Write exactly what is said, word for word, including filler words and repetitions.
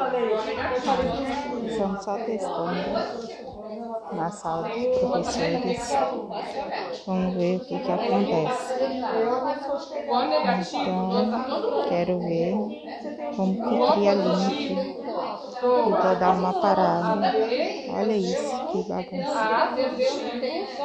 Estamos só testando na sala dos professores. Vamos ver o que que acontece. Então, quero ver como que cria link. E vou dar uma parada. Olha isso, que bagunça.